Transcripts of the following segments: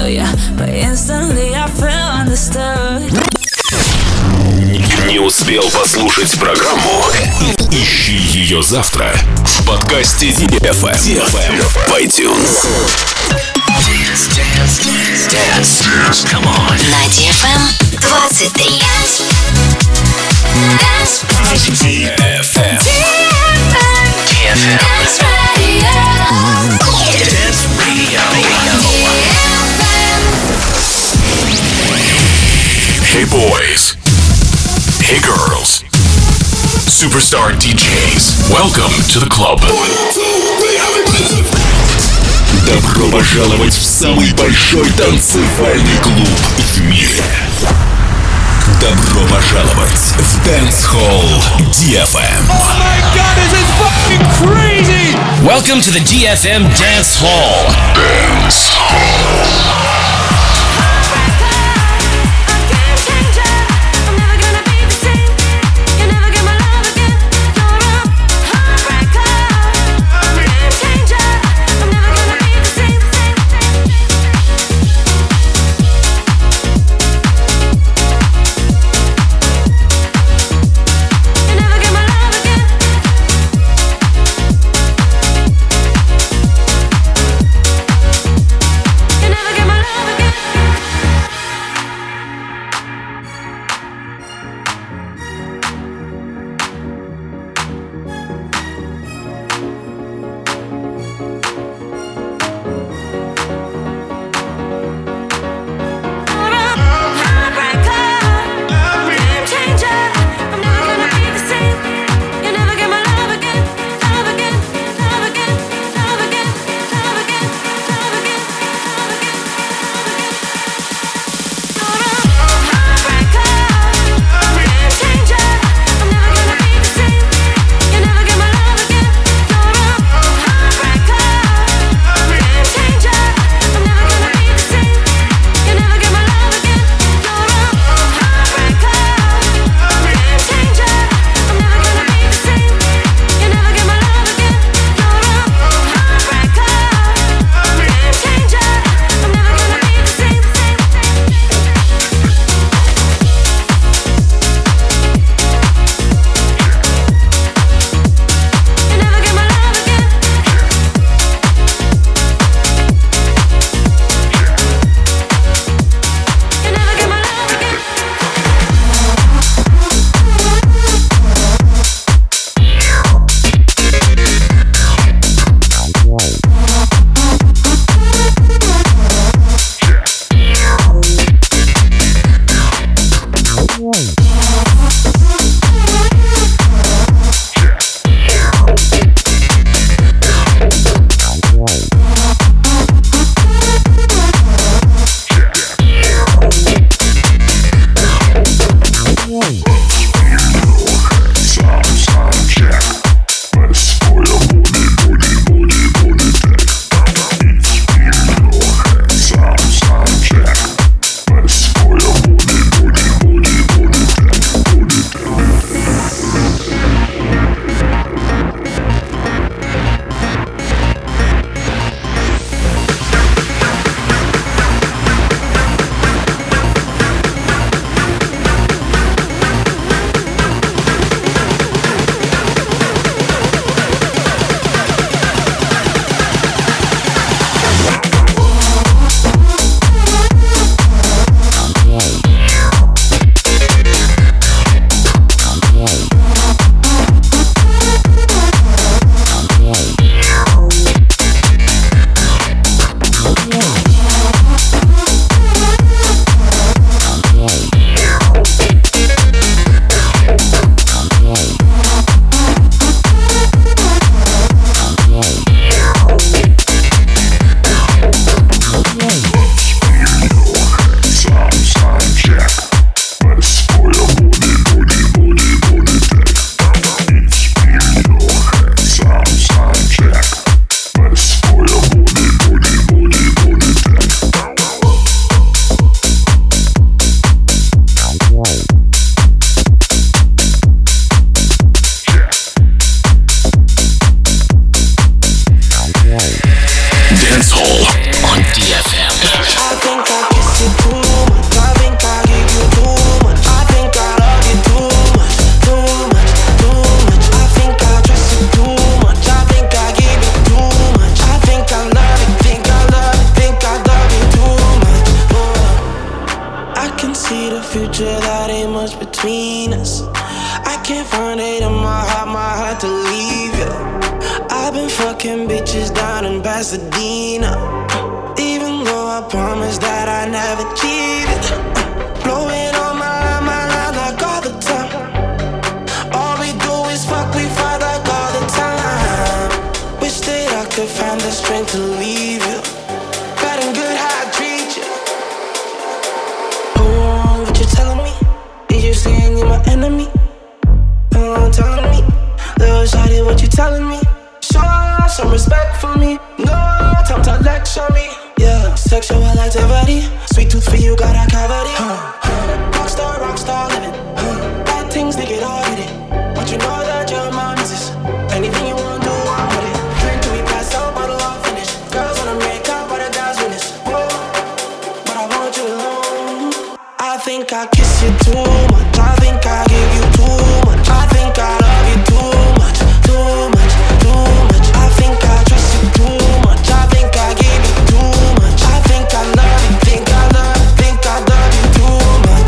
tell ya, but instantly I feel understood. Не успел послушать программу? Ищи ее завтра в подкасте DFM в iTunes. Dance. Come on. На DFM 23. DFM. Dance Radio. Hey boys. Hey girls. Superstar DJs. Welcome to the club. Добро пожаловать в самый большой танцевальный клуб в мире. Добро пожаловать в Dance Hall DFM. Oh my god, this is fucking crazy! Welcome to the DFM Dance Hall. Dance Hall. Never get my future, that ain't much between us. I can't find it in my heart to leave you. I've been fucking bitches down in Pasadena, even though I promised that I never cheated. Blowing on my line like all the time. All we do is fuck, we fight like all the time. Wish that I could find the strength to leave you. Bad and good how I treat you. Oh, what you telling me? Did you saying you're my enemy? Telling me, little shawty, what you telling me? Show some respect for me. No time to lecture me. Yeah, sexual activity. Sweet tooth for you, got a cavity. Rockstar living. Bad things, they get all hit it. But you know that you're my missus. Anything you want, do, I'm with it. Drink till we pass out, bottle all finish. Girls wanna make out, but the guys witness. Whoa, but I want you alone. I think I kiss you too much. I think I give you too much. I think I love you too much, too much, too much. I think I trust you too much. I think I give you too much. I think I love you, think I love you too much.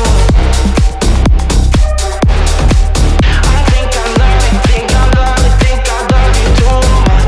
I think I love you, think I love you, think I love you too much.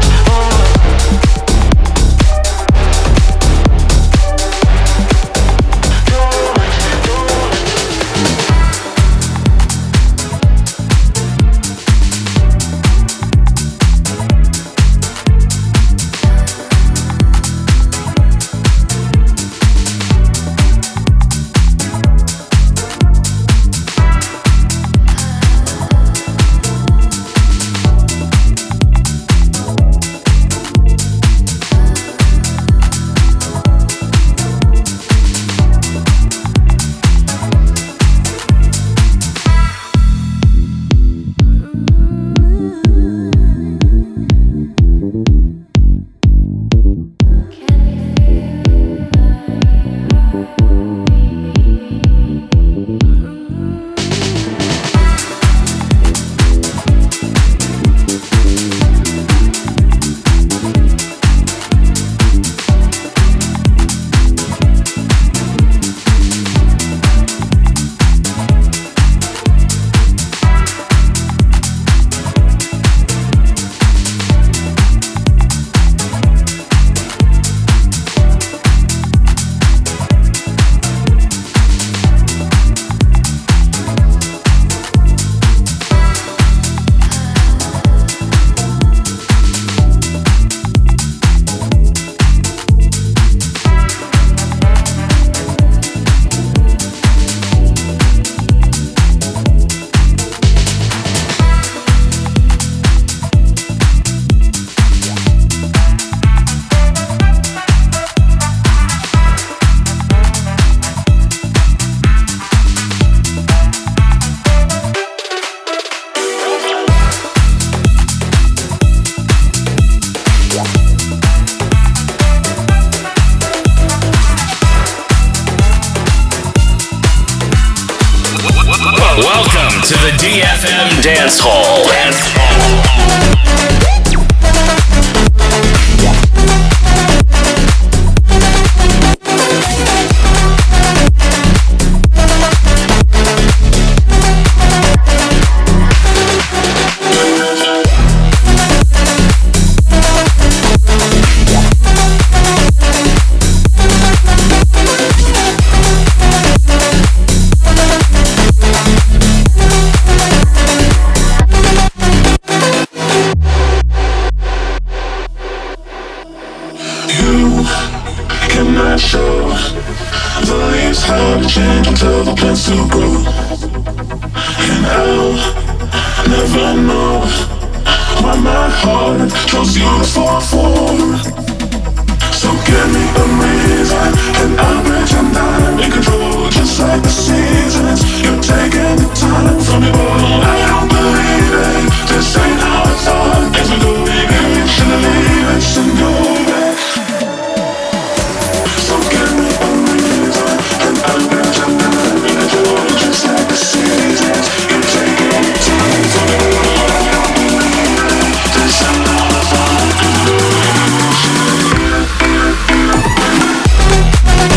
Welcome to the DFM Dance Hall. Change until the plans to grow, and I'll never know why my heart chose you to fall for. So give me a reason, and I'll pretend I'm in control, just like the seasons. You're taking the time from me, all I don't believe it. This ain't how I thought things would go. Maybe should I leave it and go back? So give me a reason, and I'll pretend I'm in control, just like the seasons. You're taking the time from me, all I don't believe it. This ain't how I thought things would go. Maybe should I leave it?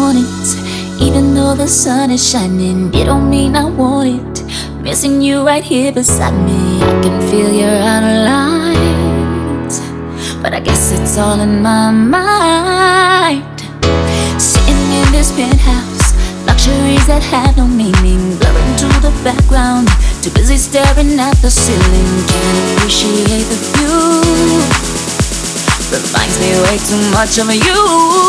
mornings, even though the sun is shining, it don't mean I want it. Missing you right here beside me, I can feel your outer lines, but I guess it's all in my mind. Sitting in this penthouse, luxuries that have no meaning, blurring to the background, too busy staring at the ceiling. Can't appreciate the view, reminds me way too much of you.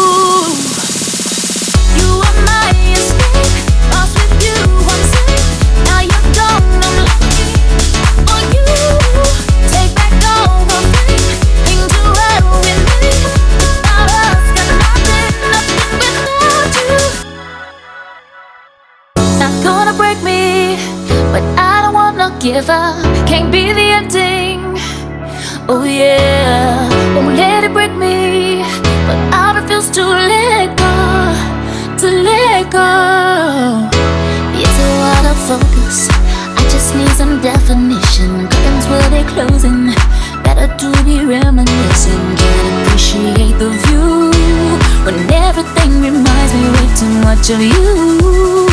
You are my escape, lost with you, I'm safe. Now you're gone, I'm looking for you. Take back all the fame, things are well with me. Without us, got nothing without you. Not gonna break me, but I don't wanna give up. Can't be the ending. Oh yeah, won't let it break me, but I refuse to let go, to let go. It's a lot of focus, I just need some definition. Curtains will be closing, better to be reminiscing. Can't appreciate the view when everything reminds me way too much of you.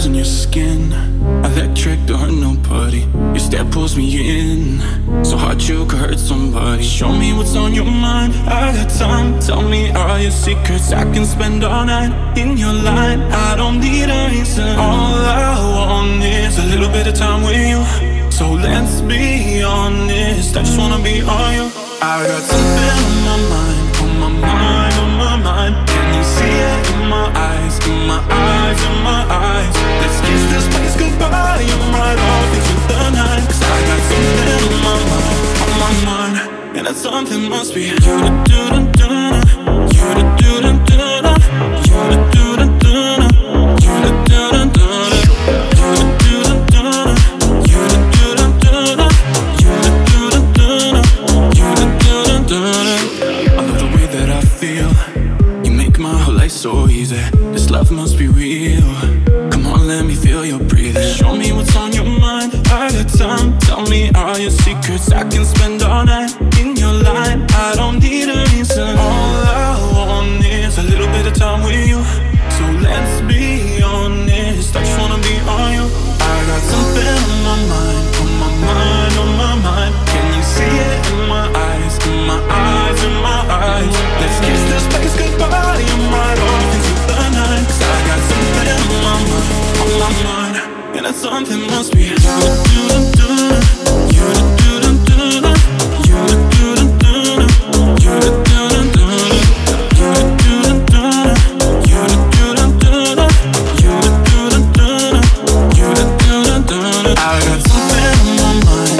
on your skin. Electric, don't hurt nobody. Your step pulls me in, so hard you could hurt somebody. Show me what's on your mind, I got time. Tell me all your secrets, I can spend all night in your line. I don't need a reason, all I want is a little bit of time with you. So let's be honest, I just wanna be all you. I got something on my mind, on my mind, on my mind. Can you see it in my eyes, in my eyes, in my eyes? Let's kiss this place goodbye and ride off into the night. 'Cause I got something on my mind, on my mind. And that something must be you to do da da, you to do da da, you to do da da, you to do da da, you to do da da, you to do da da, you to do da da, you to do da da. I love the way that I feel. You make my whole life so easy. This love must be real. Come on, let me feel your breathing. Show me what's on your mind, I got time. Tell me all your secrets, I can spend all night in your line. I don't need a reason, all I want is a little bit of time with you. So let's be honest, I just wanna be on you. I got something on my mind, on my mind, on my mind. Can you see it in my eyes, in my eyes, in my eyes? Let's kiss this place goodbye and ride off into the night. 'Cause I got something on my mind, on my mind. And that something must be you to do da da, you to do da da, you to do da da, you to do da da, you to do da da, you to do da da, you to do da da, you to do da da. I got something on my mind,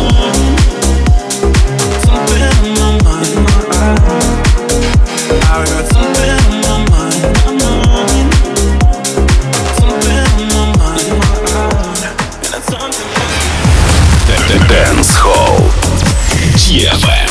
something on my mind. I got something on my mind, something on my mind. And that's something. Dance Hall DFM.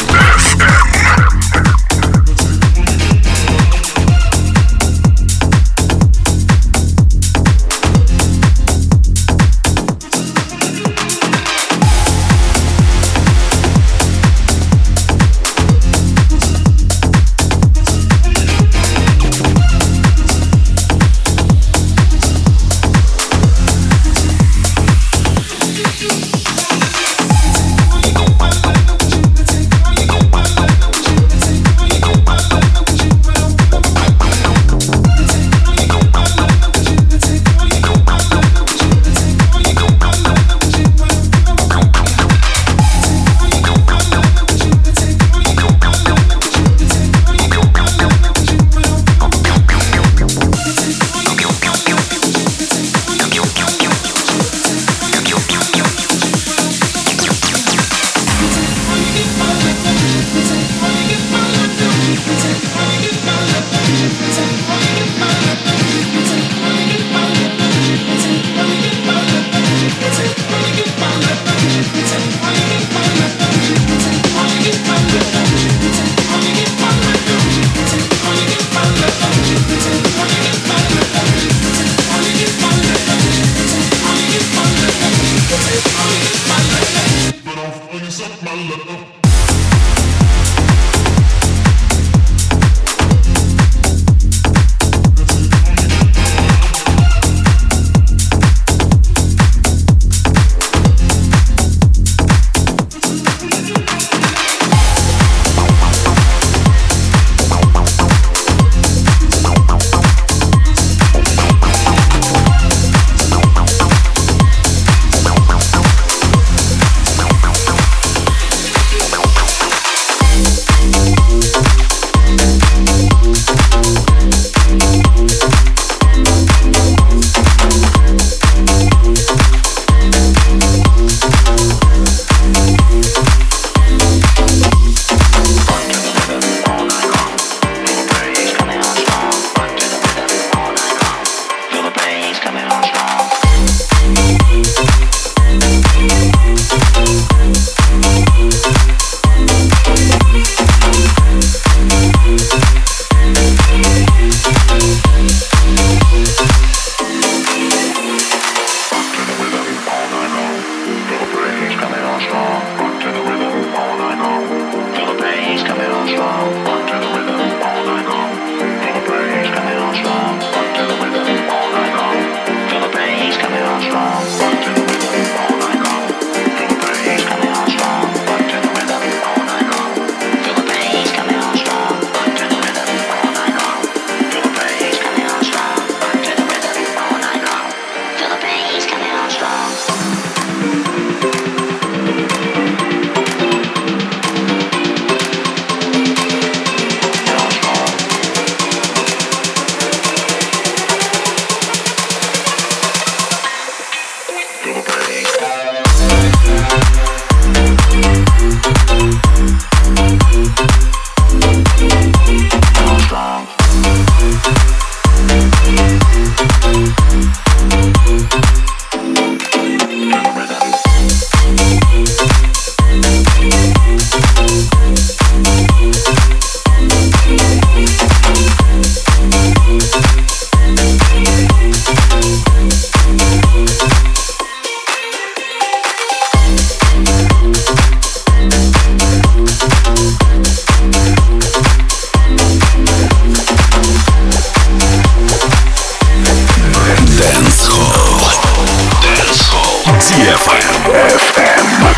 DFM.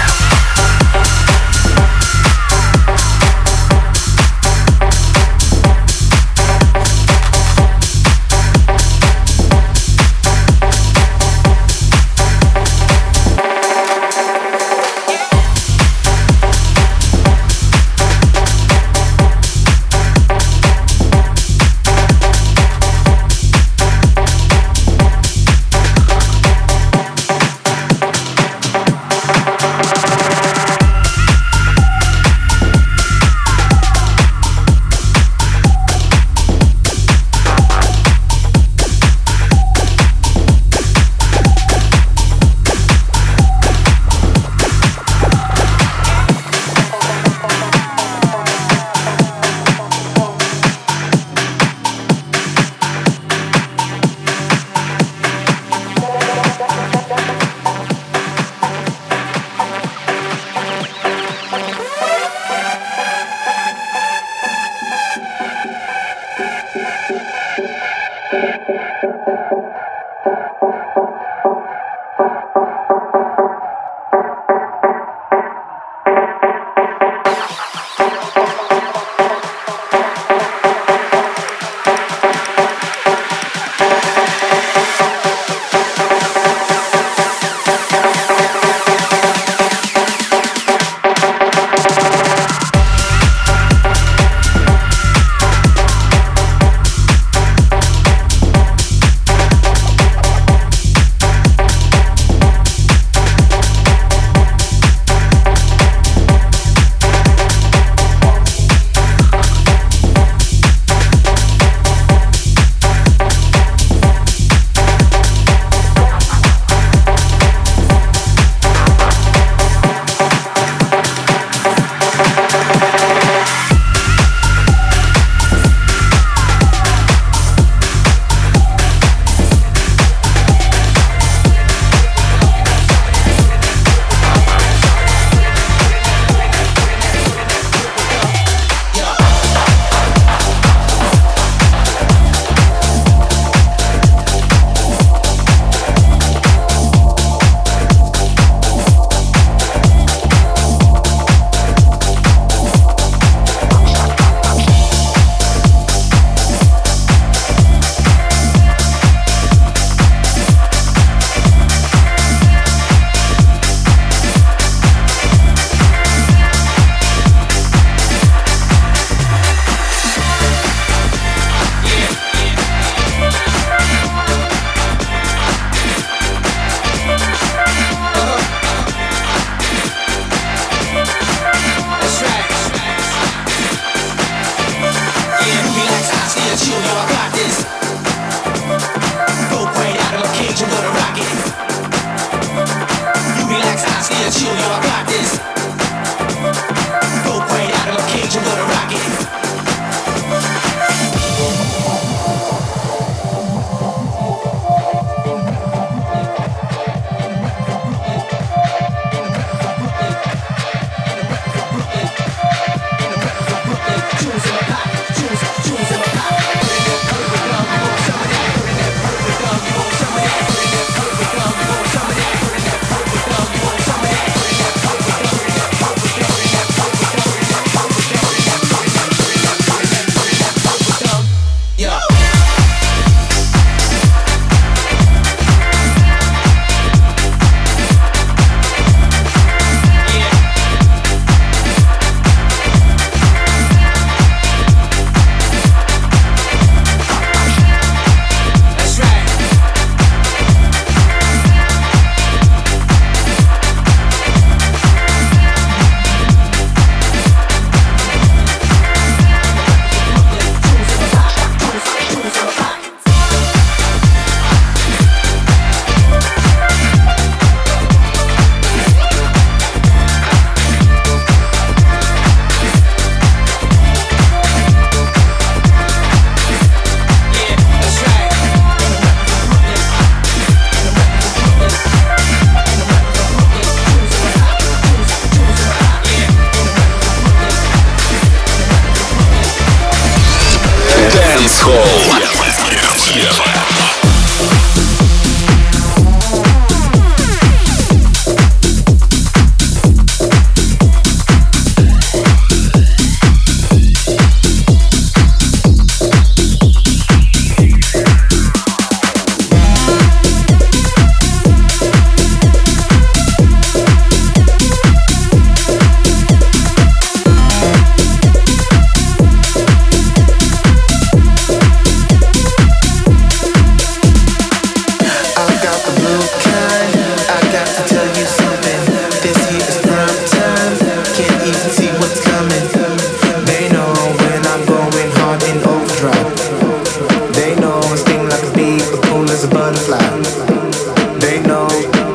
They know.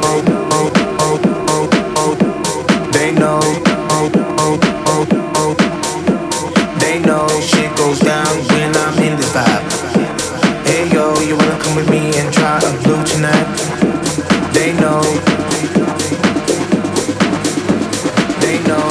They know. They know shit goes down when I'm in this vibe. Hey yo, you wanna come with me and try a blue tonight? They know. They know.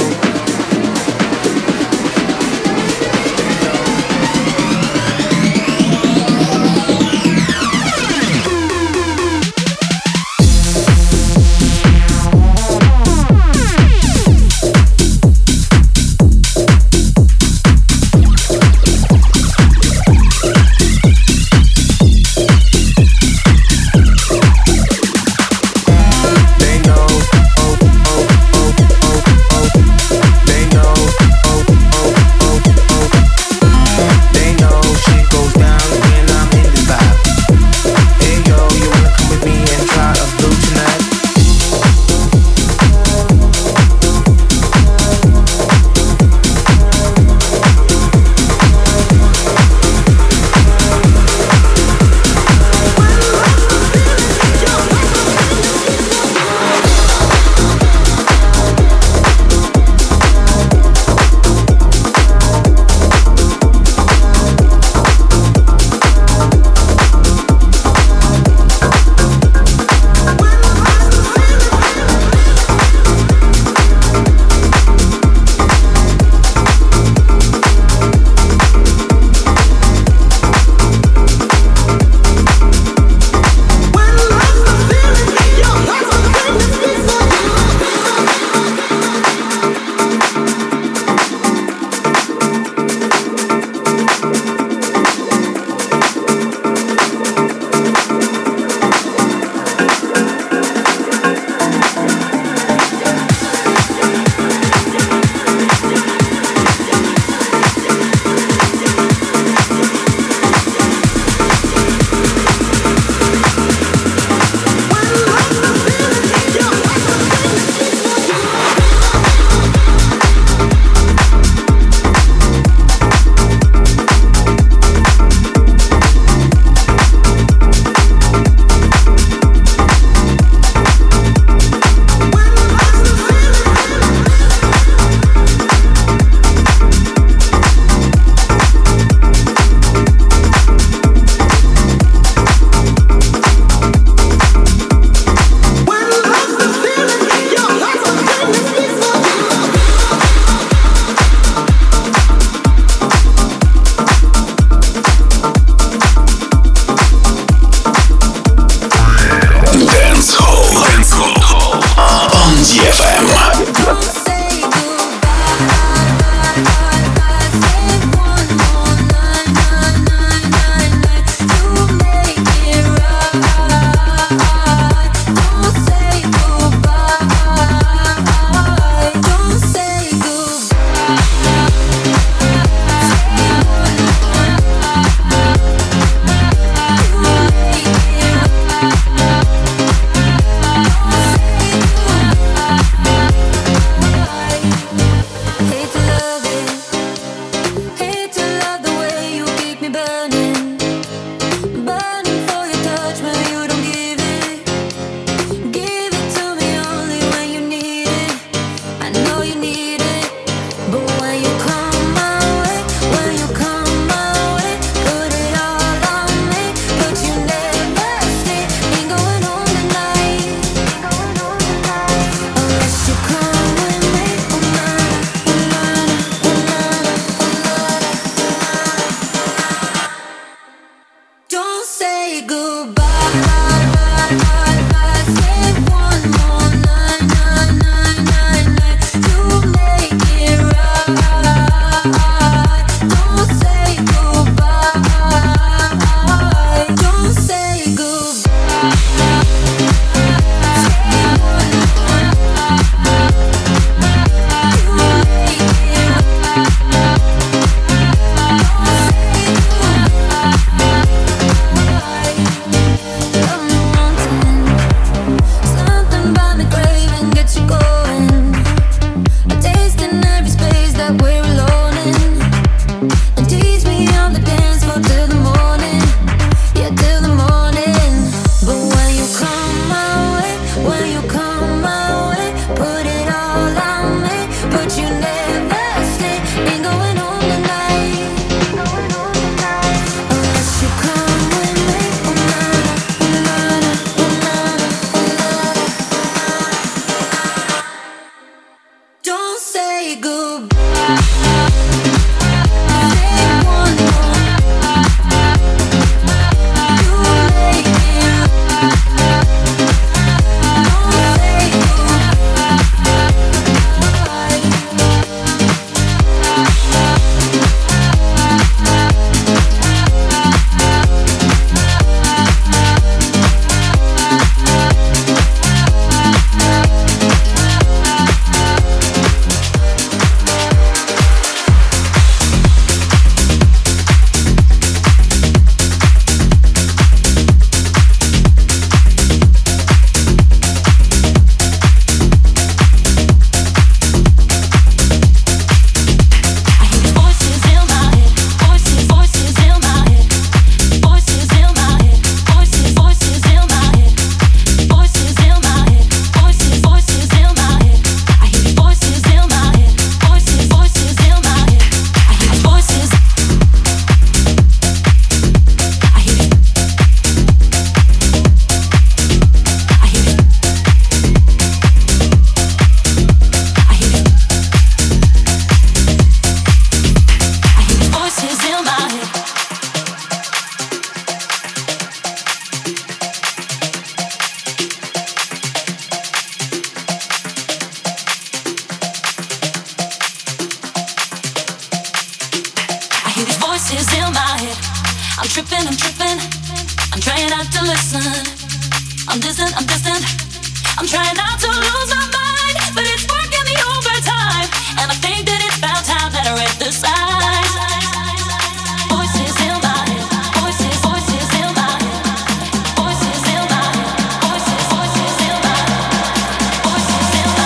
tripping. I'm trying not to listen. I'm distant. I'm trying not to lose my mind, but it's working the overtime. And I think that it's about time that I read the signs. Voices in my head. Voices in my head. Voices in my head. Voices in my head. Voices in my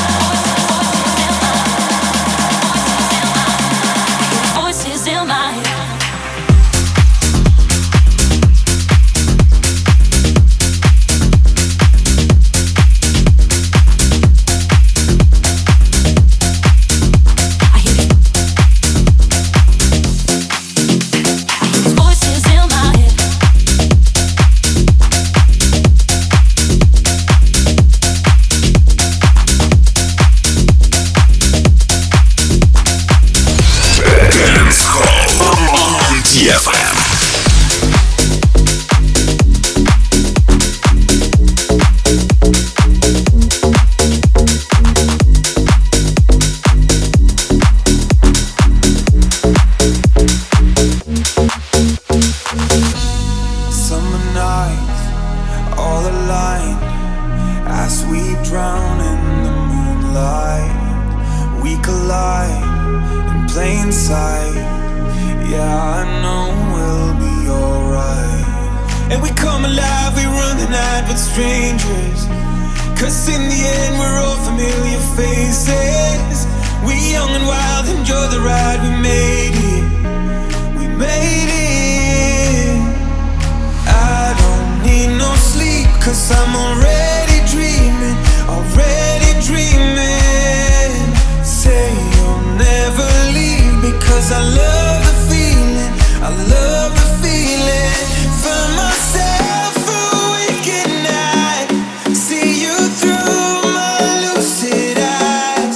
head. Voices in my head.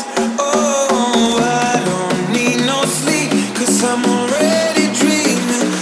I'm already dreaming.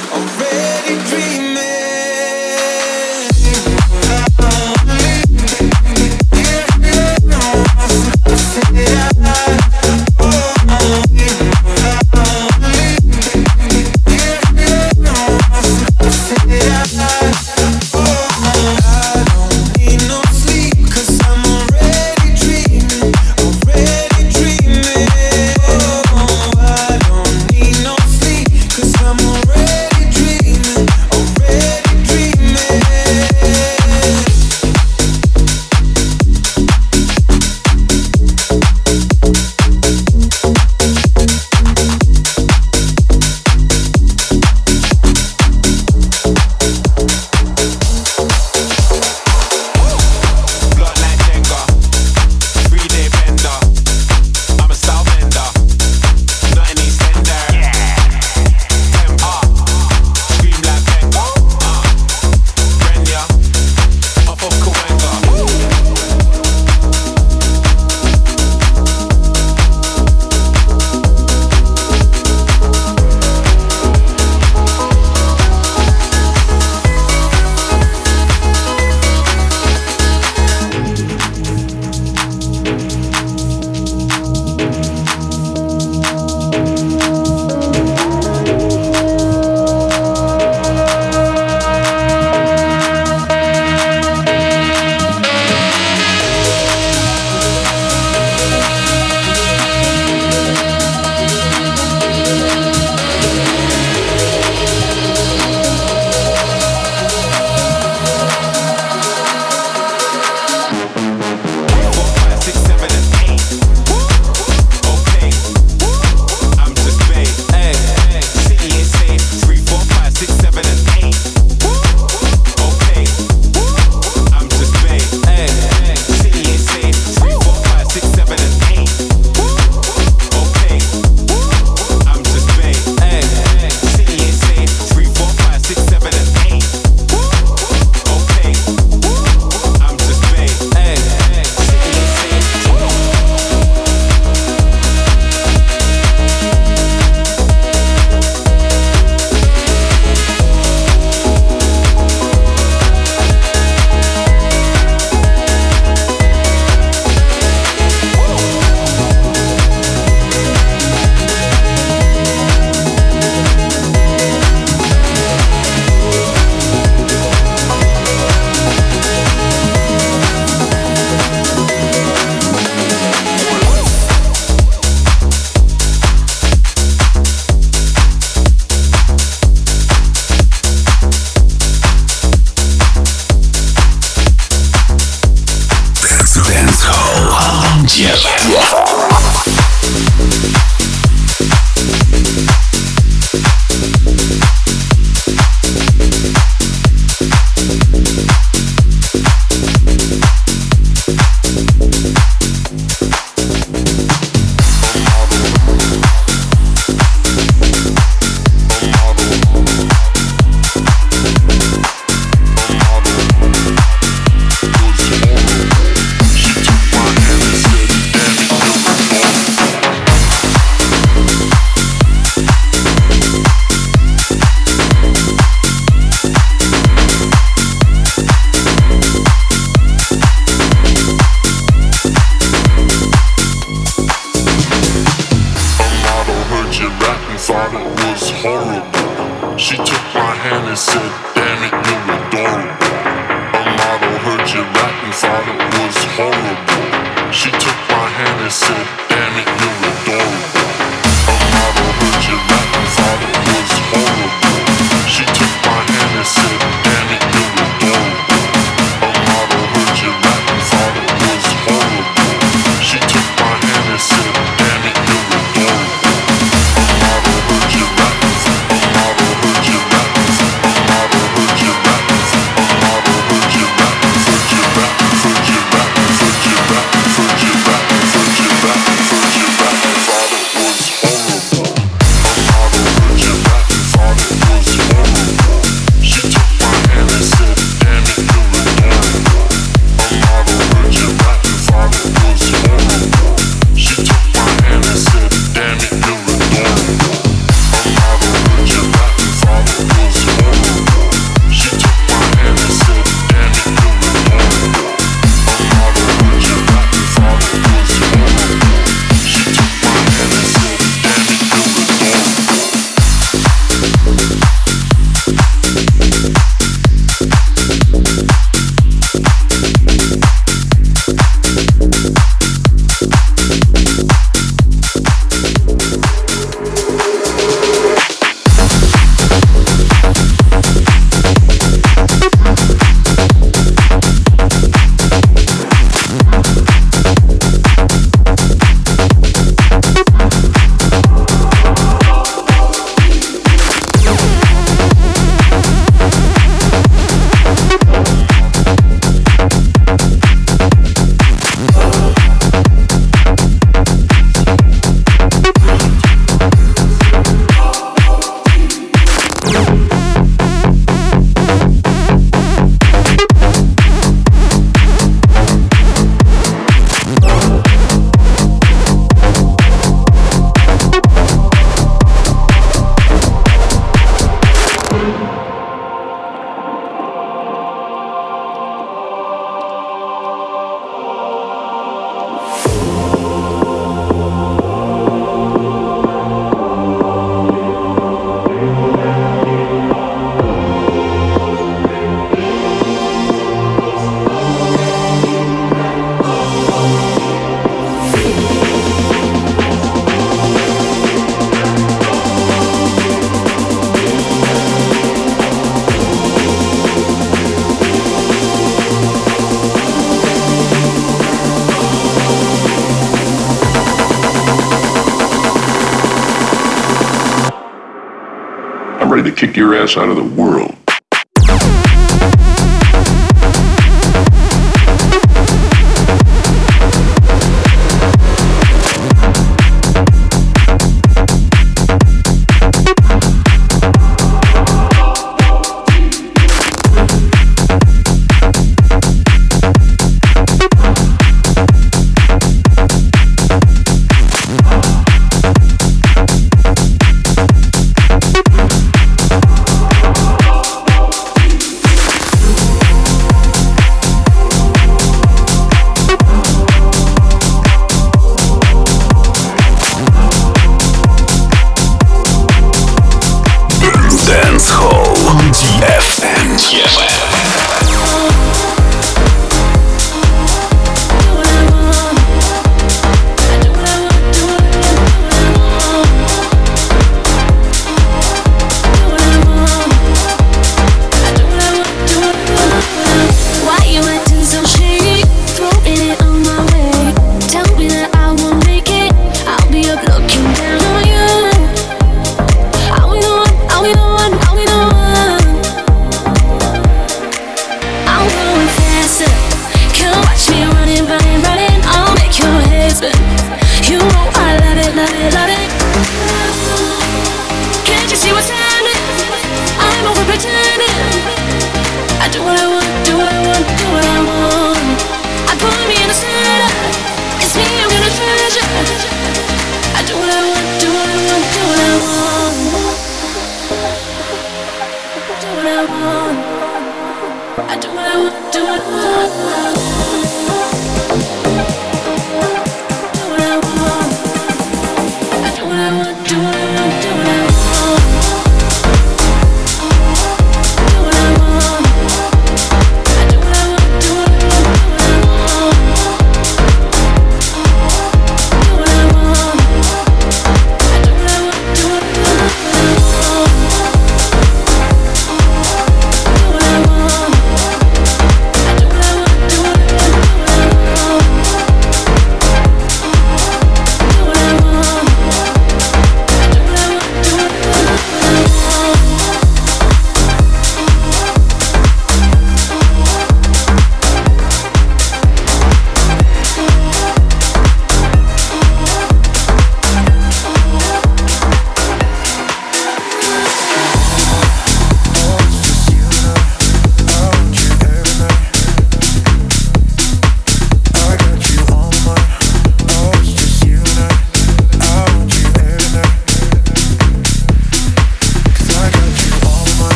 ready to kick your ass out of the world.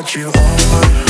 put you over.